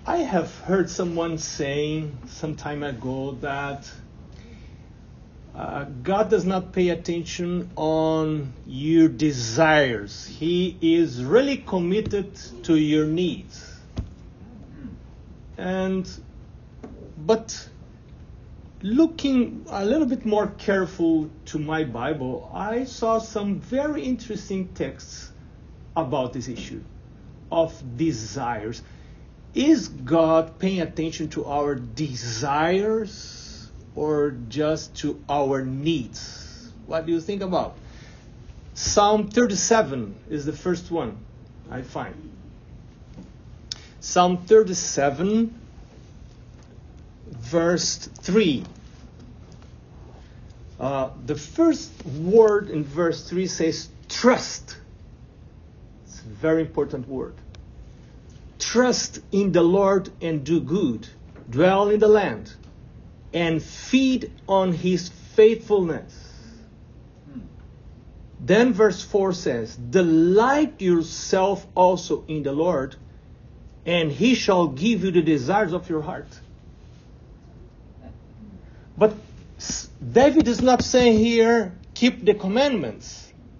I have heard someone saying some time ago that God does not pay attention on your desires. He is really committed to your needs. But looking a little bit more careful to my Bible, I saw some very interesting texts about this issue of desires. Is God paying attention to our desires or just to our needs? What do you think about? Psalm 37 is the first one I find. Psalm 37, verse 3. The first word in verse 3 says trust. It's a very important word. Trust in the Lord and do good. Dwell in the land and feed on his faithfulness. Then verse 4 says, delight yourself also in the Lord, and he shall give you the desires of your heart. But David is not saying here, keep the commandments.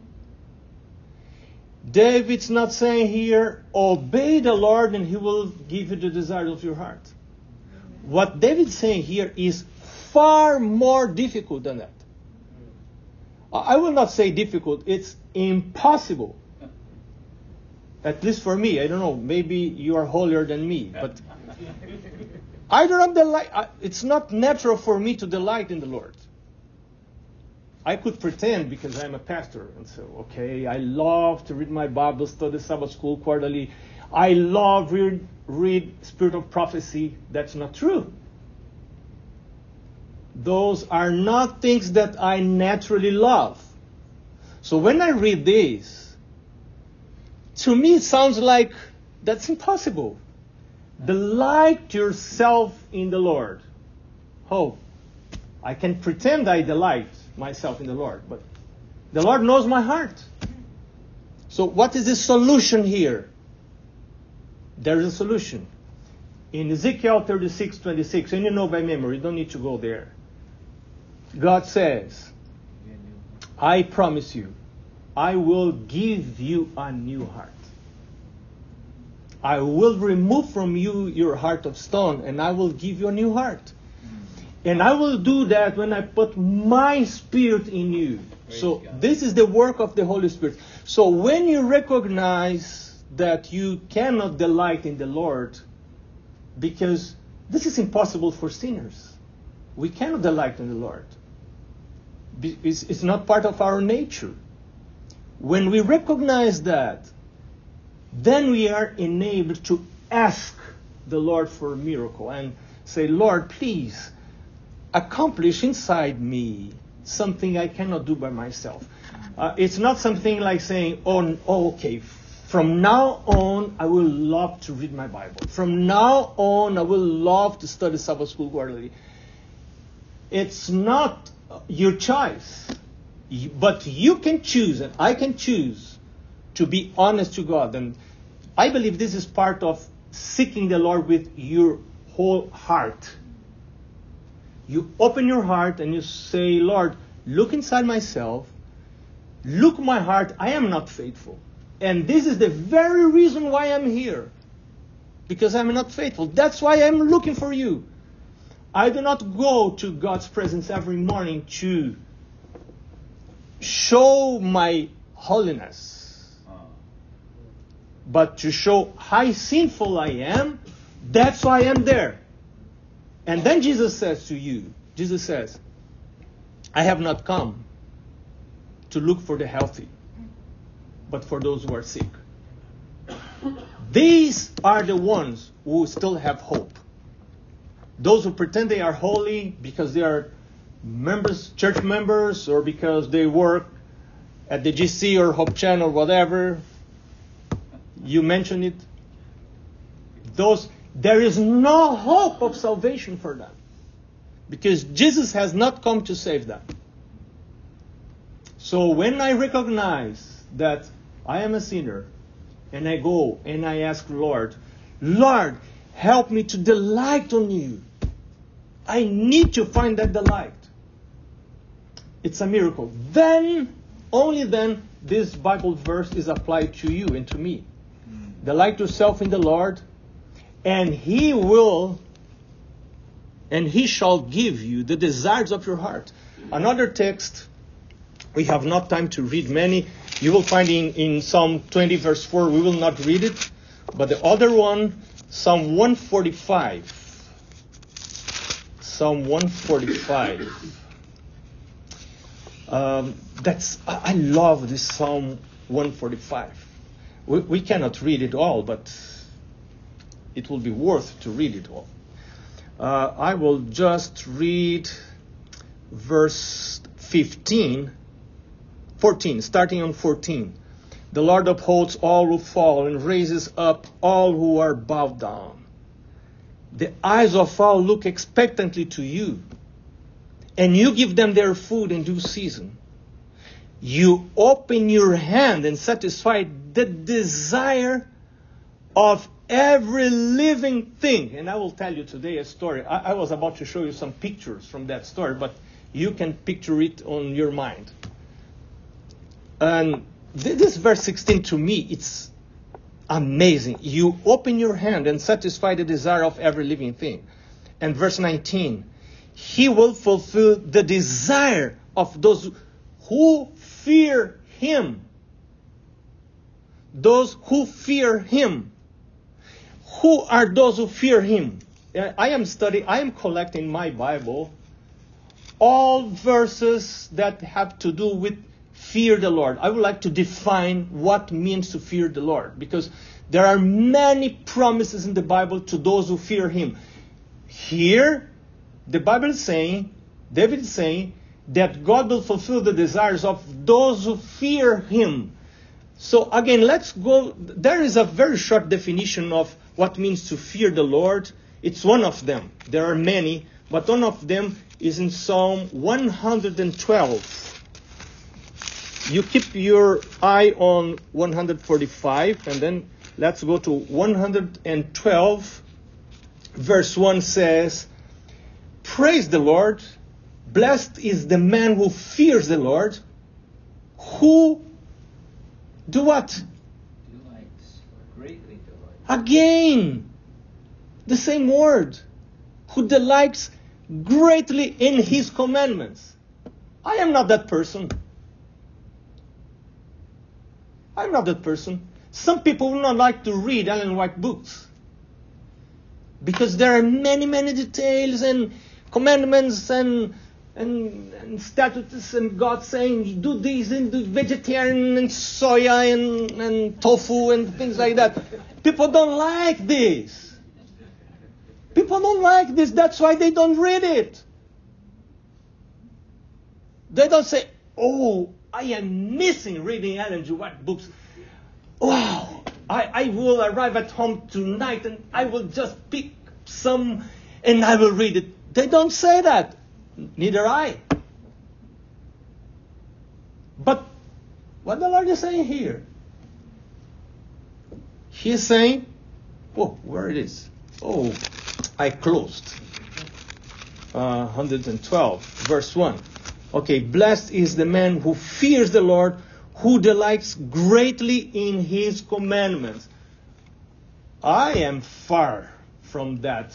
David's not saying here, obey the Lord and he will give you the desires of your heart. What David's saying here is far more difficult than that. I will not say difficult, it's impossible. At least for me, I don't know, maybe you are holier than me, but I do not delight, it's not natural for me to delight in the Lord. I could pretend because I'm a pastor and say, okay, I love to read my Bible, study Sabbath school quarterly. I love read Spirit of Prophecy. That's not true. Those are not things that I naturally love. So when I read this, to me it sounds like that's impossible. Delight yourself in the Lord. Oh, I can pretend I delight myself in the Lord, but the Lord knows my heart. So what is the solution here? There is a solution. In Ezekiel 36:26, and you know by memory, you don't need to go there. God says, I promise you, I will give you a new heart. I will remove from you your heart of stone, and I will give you a new heart. And I will do that when I put my Spirit in you. So this is the work of the Holy Spirit. So when you recognize that you cannot delight in the Lord, because this is impossible for sinners. We cannot delight in the Lord. It's not part of our nature. When we recognize that, then we are enabled to ask the Lord for a miracle and say, Lord, please, accomplish inside me something I cannot do by myself. It's not something like saying, okay, from now on, I will love to read my Bible. From now on, I will love to study Sabbath school quarterly. It's not your choice. But you can choose, and I can choose, to be honest to God. And I believe this is part of seeking the Lord with your whole heart. You open your heart and you say, Lord, look inside myself. Look my heart. I am not faithful. And this is the very reason why I'm here. Because I'm not faithful. That's why I'm looking for you. I do not go to God's presence every morning to show my holiness. But to show how sinful I am. That's why I'm there. And then Jesus says to you, Jesus says, I have not come to look for the healthy, but for those who are sick. These are the ones who still have hope. Those who pretend they are holy because they are members, church members, or because they work at the GC or Hope Channel or whatever. You mentioned it. There is no hope of salvation for them. Because Jesus has not come to save them. So when I recognize that I am a sinner, and I go and I ask Lord, help me to delight on you. I need to find that delight. It's a miracle. Then, only then, this Bible verse is applied to you and to me. Delight yourself in the Lord, and He shall give you the desires of your heart. Another text, we have not time to read many. You will find in Psalm 20 verse 4, we will not read it. But the other one, Psalm 145. Psalm 145. I love this Psalm 145. We cannot read it all, but it will be worth to read it all. I will just read verse 14, starting on 14. The Lord upholds all who fall and raises up all who are bowed down. The eyes of all look expectantly to you, and you give them their food in due season. You open your hand and satisfy the desire of every living thing. And I will tell you today a story. I was about to show you some pictures from that story, but you can picture it on your mind. And this verse 16 to me, it's amazing. You open your hand and satisfy the desire of every living thing. And verse 19, He will fulfill the desire of those who fear Him. Those who fear Him. Who are those who fear Him? I am collecting my Bible, all verses that have to do with fear the Lord. I would like to define what means to fear the Lord, because there are many promises in the Bible to those who fear Him. Here, the Bible is saying, David is saying, that God will fulfill the desires of those who fear Him. So again, let's go. There is a very short definition of what means to fear the Lord. It's one of them. There are many, but one of them is in Psalm 112. You keep your eye on 145, and then let's go to 112. Verse 1 says, Praise the Lord. Blessed is the man who fears the Lord. Who do what? Delights, or greatly delights. Again, the same word. Who delights greatly in His commandments. I am not that person. I'm not that person. Some people will not like to read Ellen White books, because there are many, many details and commandments and statutes, and God saying do this and do vegetarian and soya and tofu and things like that. People don't like this. People don't like this. That's why they don't read it. They don't say, oh, I am missing reading Ellen G. White books. Wow, I will arrive at home tonight and I will just pick some and I will read it. They don't say that. Neither I. But what the Lord is saying here? He is saying, oh, where it is? Oh, I closed. 112, verse 1. Okay, blessed is the man who fears the Lord, who delights greatly in His commandments. I am far from that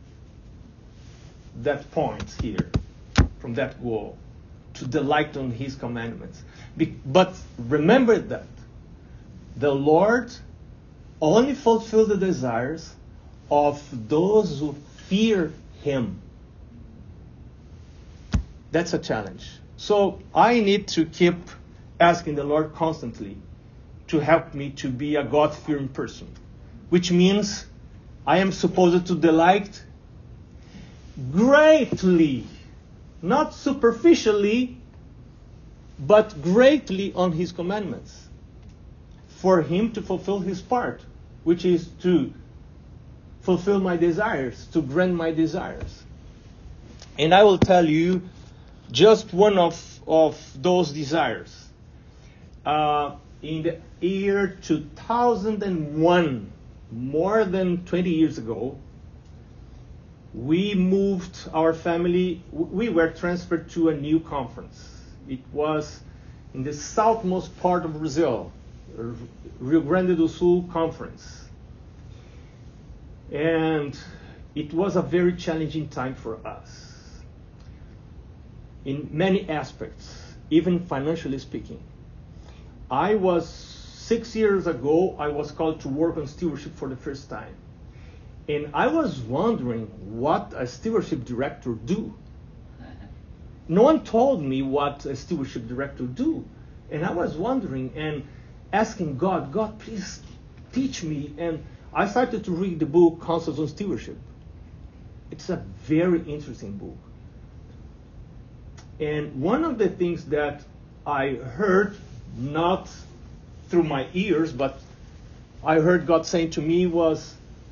point here, from that goal, to delight on His commandments. But remember that the Lord only fulfills the desires of those who fear Him. That's a challenge. So I need to keep asking the Lord constantly to help me to be a God-fearing person, which means I am supposed to delight greatly, not superficially, but greatly on His commandments, for Him to fulfill His part, which is to fulfill my desires, to grant my desires. And I will tell you just one of those desires. In the year 2001, more than 20 years ago, we moved our family, we were transferred to a new conference. It was in the southmost part of Brazil, Rio Grande do Sul conference. And it was a very challenging time for us in many aspects, even financially speaking. 6 years ago, I was called to work on stewardship for the first time. And I was wondering what a stewardship director do. No one told me what a stewardship director do. And I was wondering and asking God, please teach me. And I started to read the book, Counsels on Stewardship. It's a very interesting book. And one of the things that I heard, not through my ears, but I heard God saying to me was,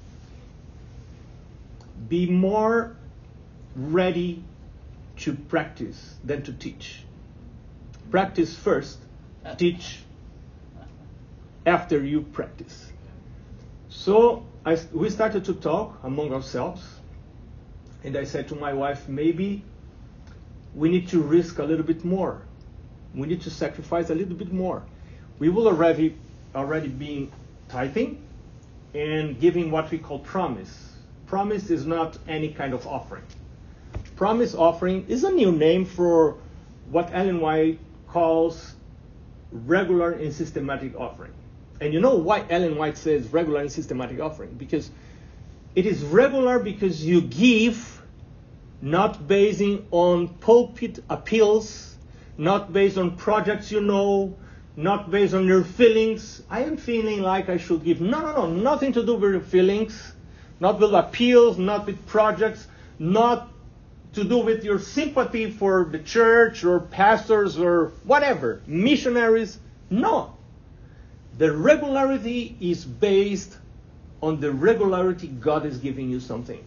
be more ready to practice than to teach. Practice first, teach after you practice. So we started to talk among ourselves, and I said to my wife, maybe we need to risk a little bit more. We need to sacrifice a little bit more. We will already be tithing and giving what we call promise. Promise is not any kind of offering. Promise offering is a new name for what Ellen White calls regular and systematic offering. And you know why Ellen White says regular and systematic offering? Because it is regular because you give not based on pulpit appeals, not based on projects you know, not based on your feelings. I am feeling like I should give. No, nothing to do with your feelings, not with appeals, not with projects, not to do with your sympathy for the church or pastors or whatever, missionaries. No. The regularity is based on the regularity God is giving you something.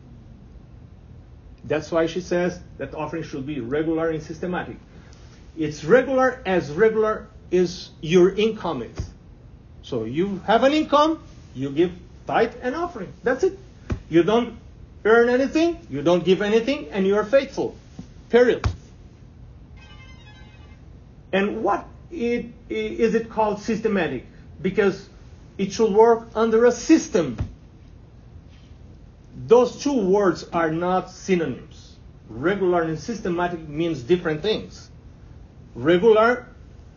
That's why she says that offering should be regular and systematic. It's regular as regular as your income is. So you have an income, you give tithe and offering. That's it. You don't earn anything, you don't give anything, and you are faithful. Period. And what is it called systematic? Because it should work under a system. Those two words are not synonyms. Regular and systematic means different things. Regular,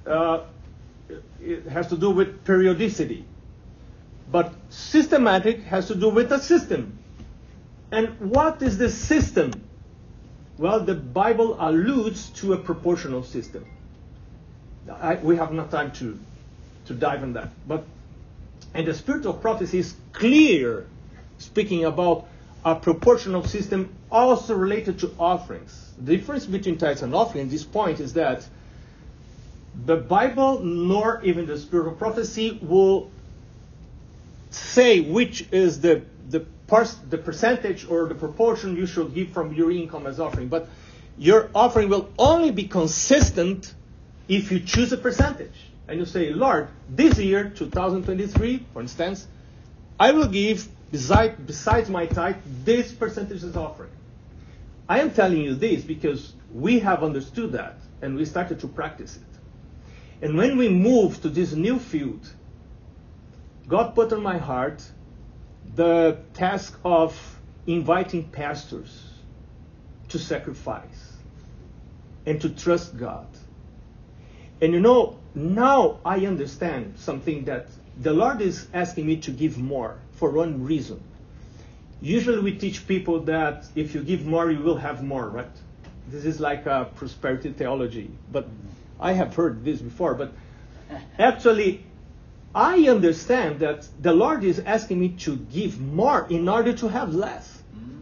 it has to do with periodicity. But systematic has to do with a system. And what is the system? Well, the Bible alludes to a proportional system. We have no time to dive in that. And the spirit of prophecy is clear, speaking about a proportional system also related to offerings. The difference between tithes and offering at this point is that the Bible, nor even the spirit of prophecy, will say which is the percentage or the proportion you should give from your income as offering. But your offering will only be consistent if you choose a percentage. And you say, Lord, this year, 2023, for instance, I will give, besides my tithe, this percentage as offering. I am telling you this because we have understood that and we started to practice it. And when we moved to this new field, God put on my heart the task of inviting pastors to sacrifice and to trust God. And you know, now I understand something, that the Lord is asking me to give more for one reason. Usually we teach people that if you give more, you will have more, right? This is like a prosperity theology. But I have heard this before. But actually, I understand that the Lord is asking me to give more in order to have less.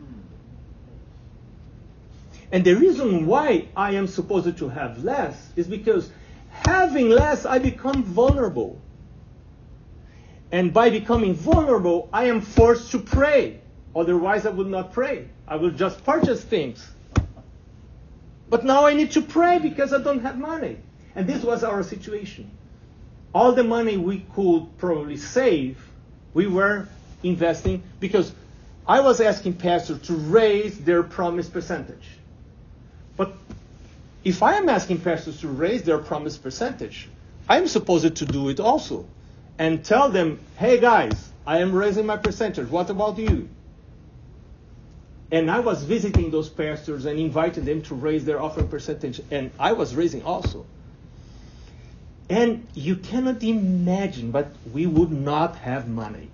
And the reason why I am supposed to have less is because having less, I become vulnerable. And by becoming vulnerable, I am forced to pray. Otherwise, I would not pray. I will just purchase things. But now I need to pray because I don't have money. And this was our situation. All the money we could probably save, we were investing because I was asking pastors to raise their promise percentage. But if I am asking pastors to raise their promise percentage, I'm supposed to do it also and tell them, hey guys, I am raising my percentage. What about you? And I was visiting those pastors and inviting them to raise their offering percentage, and I was raising also. And you cannot imagine, but we would not have money.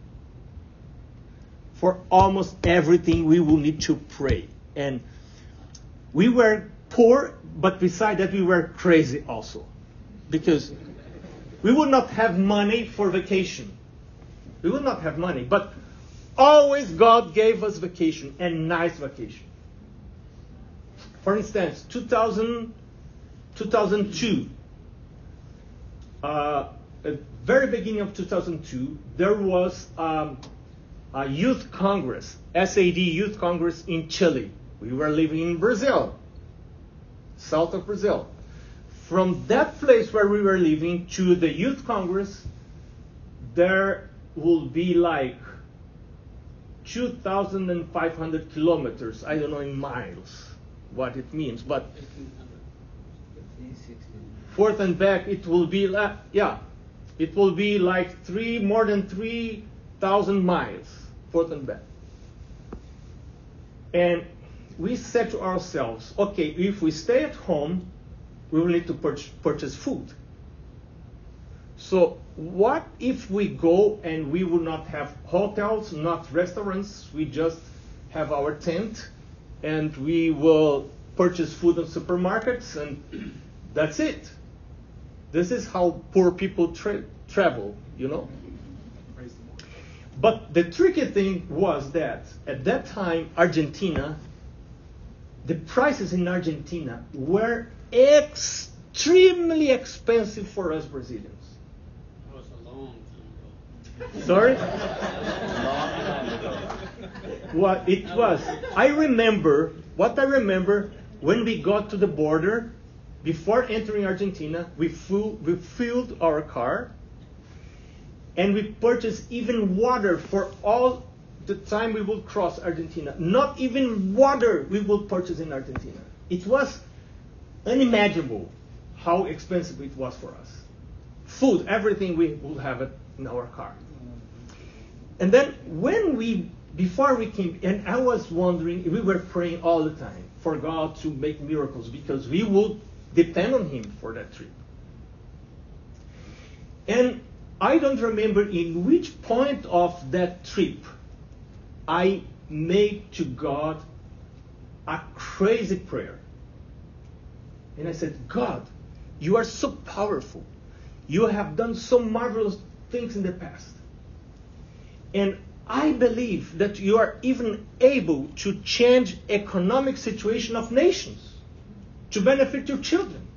For almost everything, we will need to pray. And we were poor, but beside that, we were crazy also. Because we would not have money for vacation. We would not have money. But always God gave us vacation, and nice vacation. For instance, 2002, at the very beginning of 2002, there was a youth congress, SAD Youth Congress in Chile. We were living in Brazil, south of Brazil. From that place where we were living to the youth congress, there will be like 2,500 kilometers. I don't know in miles what it means, but forth and back it will be it will be like more than 3,000 miles forth and back. And we said to ourselves, okay, if we stay at home, we will need to purchase food. So what if we go and we will not have hotels, not restaurants, we just have our tent and we will purchase food in supermarkets and that's it. This is how poor people travel, you know. But the tricky thing was that at that time, Argentina, the prices in Argentina were extremely expensive for us Brazilians. That was a long time ago. Sorry? What it was. I remember when we got to the border, before entering Argentina, we filled our car and we purchased even water for all the time we will cross Argentina. Not even water we will purchase in Argentina. It was unimaginable how expensive it was for us. Food, everything we will have it in our car. And then before we came, and I was wondering, we were praying all the time for God to make miracles because we would depend on Him for that trip. And I don't remember in which point of that trip I made to God a crazy prayer. And I said, God, you are so powerful. You have done so marvelous things in the past. And I believe that you are even able to change economic situation of nations to benefit your children.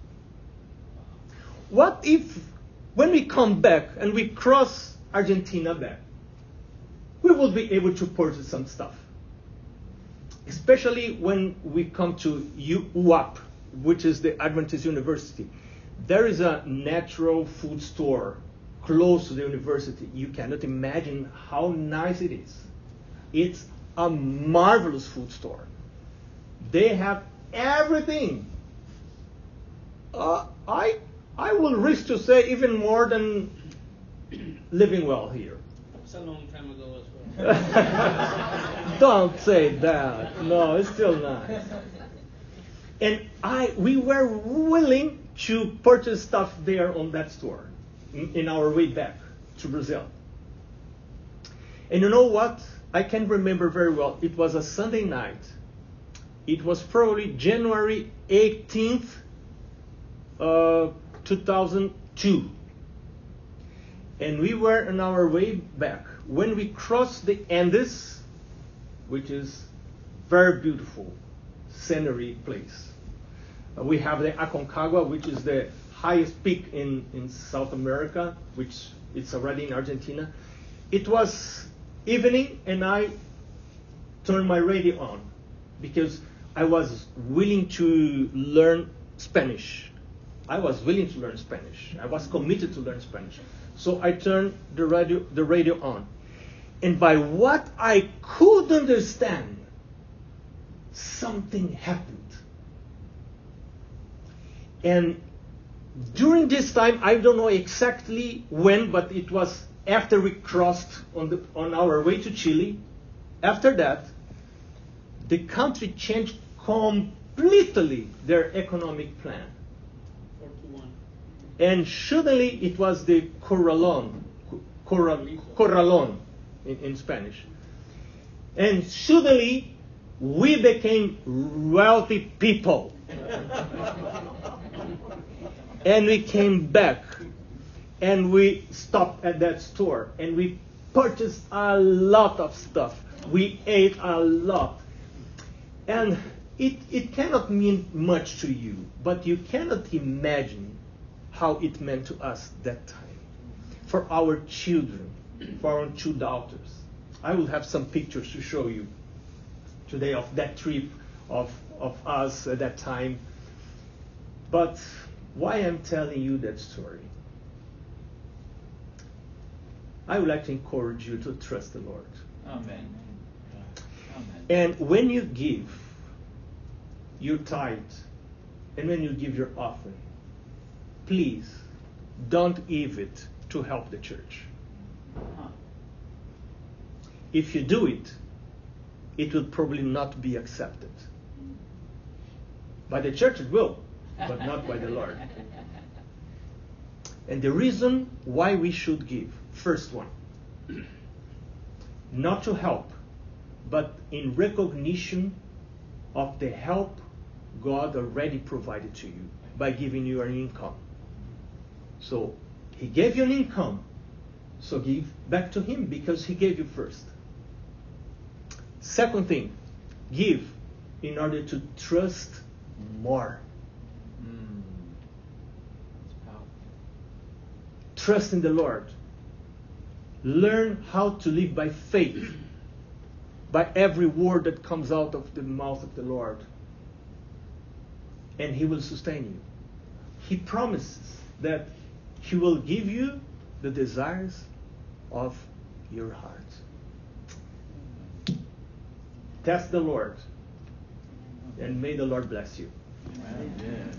What if when we come back and we cross Argentina back, we will be able to purchase some stuff? Especially when we come to UAP, which is the Adventist University. There is a natural food store close to the university. You cannot imagine how nice it is. It's a marvelous food store. They have everything. I will risk to say even more than living well here. It's a long time ago as well. Don't say that. No, it's still nice. And we were willing to purchase stuff there on that store in our way back to Brazil. And you know what? I can remember very well. It was a Sunday night. It was probably January 18th, 2002. And we were on our way back. When we crossed the Andes, which is very beautiful scenery place. We have the Aconcagua, which is the highest peak in South America, which it's already in Argentina. It was evening, and I turned my radio on because I was willing to learn Spanish. I was willing to learn Spanish. I was committed to learn Spanish. So I turned the radio on. And by what I could understand, something happened. And during this time, I don't know exactly when, but it was after we crossed on our way to Chile. After that, the country changed completely their economic plan. 4-1. And suddenly it was the corralón in Spanish. And suddenly we became wealthy people. And we came back and we stopped at that store and we purchased a lot of stuff. We ate a lot. And it cannot mean much to you, but you cannot imagine how it meant to us that time. For our children, for our 2 daughters. I will have some pictures to show you today of that trip of us at that time. But why I'm telling you that story? I would like to encourage you to trust the Lord. Amen. Amen. And when you give your tithe, and when you give your offering, please don't give it to help the church. Huh. If you do it, it will probably not be accepted. By the church it will, but not by the Lord. And the reason why we should give, first one, not to help, but in recognition of the help God already provided to you by giving you an income. So He gave you an income, so give back to Him because He gave you first. Second thing, give in order to trust more. It's powerful. Trust in the Lord. Learn how to live by faith, by every word that comes out of the mouth of the Lord. And He will sustain you. He promises that He will give you the desires of your heart. Test the Lord, and may the Lord bless you. Amen.